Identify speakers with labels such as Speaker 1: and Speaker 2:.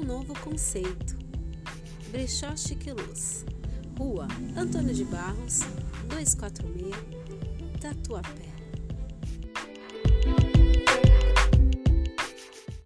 Speaker 1: novo conceito. Brechó Chique Luz, Rua Antônio de Barros, 246, Tatuapé.